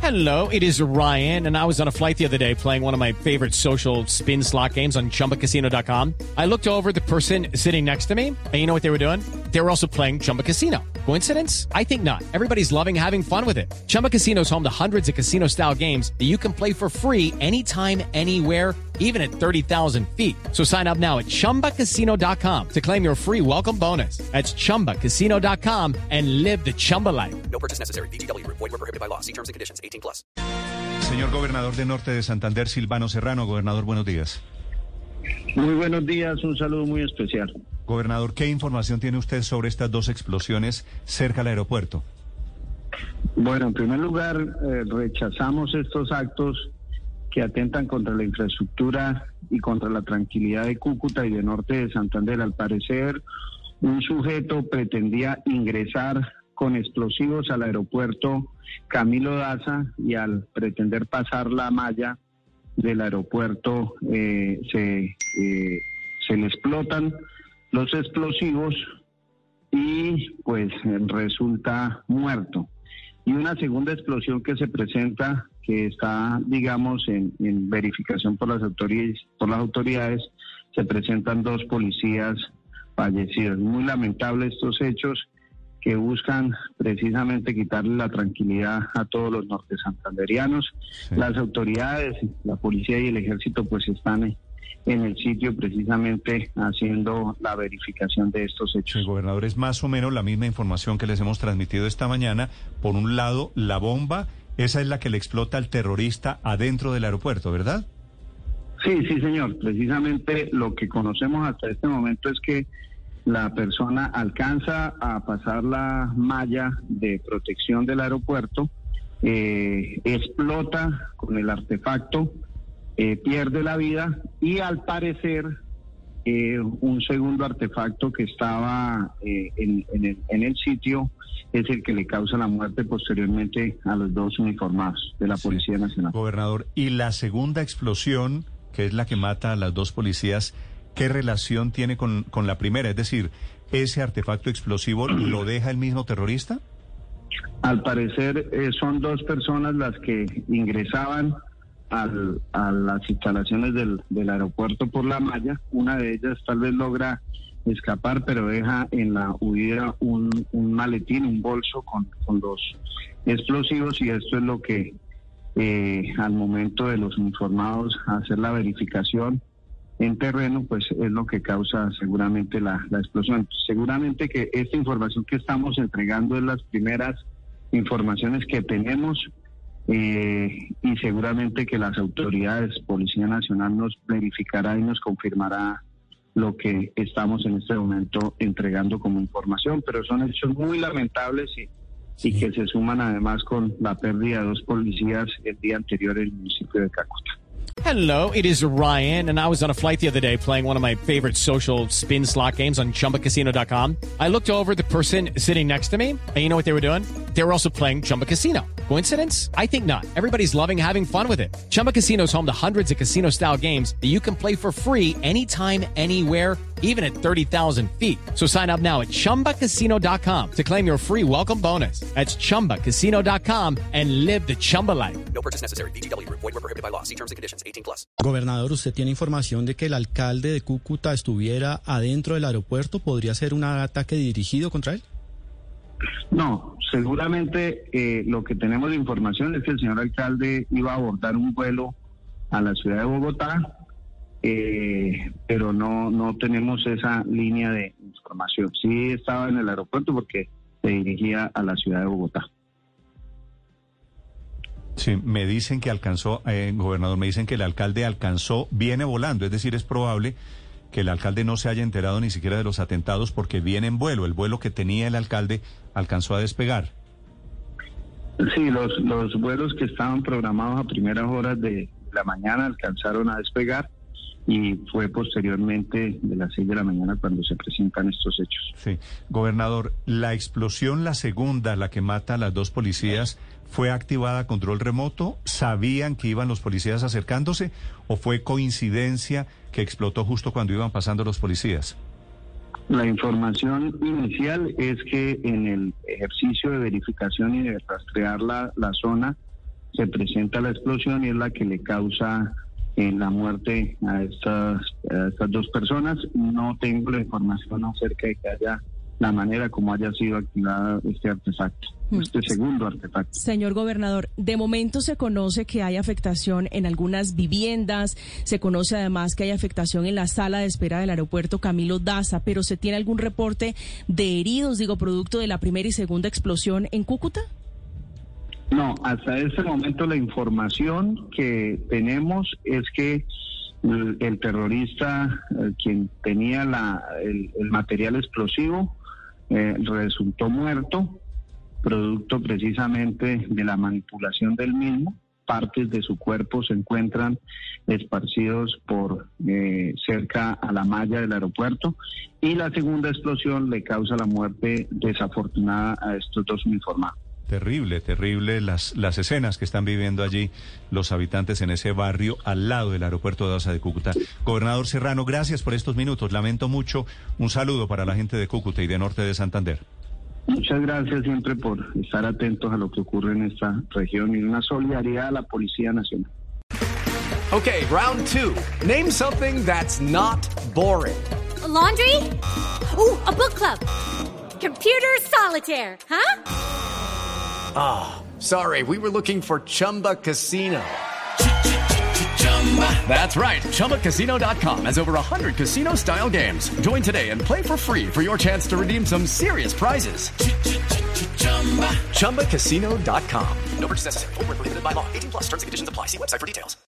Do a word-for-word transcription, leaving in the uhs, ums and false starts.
Hello, it is Ryan, and I was on a flight the other day playing one of my favorite social spin slot games on Chumba Casino dot com. I looked over at the person sitting next to me, and you know what they were doing? They were also playing Chumba Casino. Coincidence? I think not. Everybody's loving having fun with it. Chumba Casino is home to hundreds of casino-style games that you can play for free anytime, anywhere, even at thirty thousand feet. So sign up now at Chumba Casino dot com to claim your free welcome bonus. That's Chumba Casino dot com and live the Chumba life. No purchase necessary. V G W. Void where prohibited by law. See terms and conditions. eighteen plus. Señor gobernador de Norte de Santander, Silvano Serrano. Gobernador, buenos días. Muy buenos días, un saludo muy especial. Gobernador, ¿qué información tiene usted sobre estas dos explosiones cerca al aeropuerto? Bueno, en primer lugar, eh, rechazamos estos actos que atentan contra la infraestructura y contra la tranquilidad de Cúcuta y de Norte de Santander. Al parecer, un sujeto pretendía ingresar con explosivos al aeropuerto Camilo Daza y al pretender pasar la malla del aeropuerto eh, se, eh, se le explotan los explosivos y pues resulta muerto. Y una segunda explosión que se presenta, que está, digamos, en, en verificación por las autoridades, por las autoridades, se presentan dos policías fallecidos. Muy lamentable estos hechos que buscan precisamente quitarle la tranquilidad a todos los nortesantanderianos. Sí. Las autoridades, la policía y el ejército pues están en el sitio precisamente haciendo la verificación de estos hechos. Sí, gobernador, es más o menos la misma información que les hemos transmitido esta mañana. Por un lado, la bomba, esa es la que le explota al terrorista adentro del aeropuerto, ¿verdad? Sí, sí, señor. Precisamente lo que conocemos hasta este momento es que la persona alcanza a pasar la malla de protección del aeropuerto, eh, explota con el artefacto, eh, pierde la vida y al parecer eh, un segundo artefacto que estaba eh, en, en, el, en el sitio es el que le causa la muerte posteriormente a los dos uniformados de la Policía sí. Nacional. Gobernador, y la segunda explosión, que es la que mata a las dos policías, ¿qué relación tiene con, con la primera? Es decir, ¿ese artefacto explosivo lo deja el mismo terrorista? Al parecer eh, son dos personas las que ingresaban al, a las instalaciones del, del aeropuerto por la malla. Una de ellas tal vez logra escapar, pero deja en la huida un, un maletín, un bolso con, con los explosivos, y esto es lo que eh, al momento de los uniformados hacer la verificación en terreno, pues es lo que causa seguramente la, la explosión. Seguramente que esta información que estamos entregando es las primeras informaciones que tenemos eh, y seguramente que las autoridades, Policía Nacional nos verificará y nos confirmará lo que estamos en este momento entregando como información, pero son hechos muy lamentables y, sí. y que se suman además con la pérdida de dos policías el día anterior en el municipio de Cúcuta. Hello, it is Ryan, and I was on a flight the other day playing one of my favorite social spin slot games on Chumba Casino dot com. I looked over at the person sitting next to me, and you know what they were doing? They were also playing Chumba Casino. Coincidence? I think not. Everybody's loving having fun with it. Chumba Casino is home to hundreds of casino-style games that you can play for free anytime, anywhere, even at thirty thousand feet. So sign up now at Chumba Casino dot com to claim your free welcome bonus. That's Chumba Casino dot com and live the Chumba life. No purchase necessary. V G W. Void where prohibited by law. See terms and conditions. eighteen plus. Gobernador, ¿usted tiene información de que el alcalde de Cúcuta estuviera adentro del aeropuerto? ¿Podría ser un ataque dirigido contra él? No, seguramente eh, lo que tenemos de información es que el señor alcalde iba a abordar un vuelo a la ciudad de Bogotá, eh, pero no, no tenemos esa línea de información. Sí estaba en el aeropuerto porque se dirigía a la ciudad de Bogotá. Sí, me dicen que alcanzó, eh, gobernador, me dicen que el alcalde alcanzó, viene volando, es decir, es probable que el alcalde no se haya enterado ni siquiera de los atentados porque viene en vuelo, el vuelo que tenía el alcalde alcanzó a despegar. Sí, los, los vuelos que estaban programados a primeras horas de la mañana alcanzaron a despegar y fue posteriormente de las seis de la mañana cuando se presentan estos hechos. Sí, gobernador, la explosión, la segunda, la que mata a las dos policías, ¿fue activada a control remoto? ¿Sabían que iban los policías acercándose o fue coincidencia que explotó justo cuando iban pasando los policías? La información inicial es que en el ejercicio de verificación y de rastrear la, la zona, se presenta la explosión y es la que le causa eh, la muerte a estas, a estas dos personas. No tengo la información acerca de que haya la manera como haya sido activado este artefacto, este segundo artefacto. Señor gobernador, de momento se conoce que hay afectación en algunas viviendas, se conoce además que hay afectación en la sala de espera del aeropuerto Camilo Daza, pero ¿se tiene algún reporte de heridos, digo, producto de la primera y segunda explosión en Cúcuta? No, hasta este momento la información que tenemos es que el, el terrorista, eh, quien tenía la, el, el material explosivo, eh, resultó muerto, producto precisamente de la manipulación del mismo. Partes de su cuerpo se encuentran esparcidos por eh, cerca a la malla del aeropuerto, y la segunda explosión le causa la muerte desafortunada a estos dos uniformados. Terrible, terrible las, las escenas que están viviendo allí los habitantes en ese barrio al lado del aeropuerto de Daza de Cúcuta. Gobernador Serrano, gracias por estos minutos. Lamento mucho. Un saludo para la gente de Cúcuta y de Norte de Santander. Muchas gracias siempre por estar atentos a lo que ocurre en esta región y una solidaridad a la Policía Nacional. Okay, round two. Name something that's not boring. A laundry? Ooh, a book club. Computer solitaire, huh? Ah, oh, sorry, we were looking for Chumba Casino. That's right, Chumba Casino dot com has over one hundred casino-style games. Join today and play for free for your chance to redeem some serious prizes. Chumba Casino dot com. No purchase necessary. Void where prohibited by law. eighteen plus terms and conditions apply. See website for details.